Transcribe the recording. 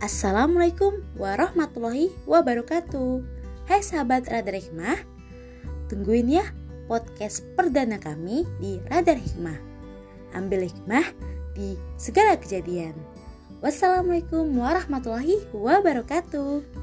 Assalamualaikum warahmatullahi wabarakatuh. Hai sahabat Radar Hikmah, tungguin ya podcast perdana kami di Radar Hikmah. Ambil hikmah di segala kejadian. Wassalamualaikum warahmatullahi wabarakatuh.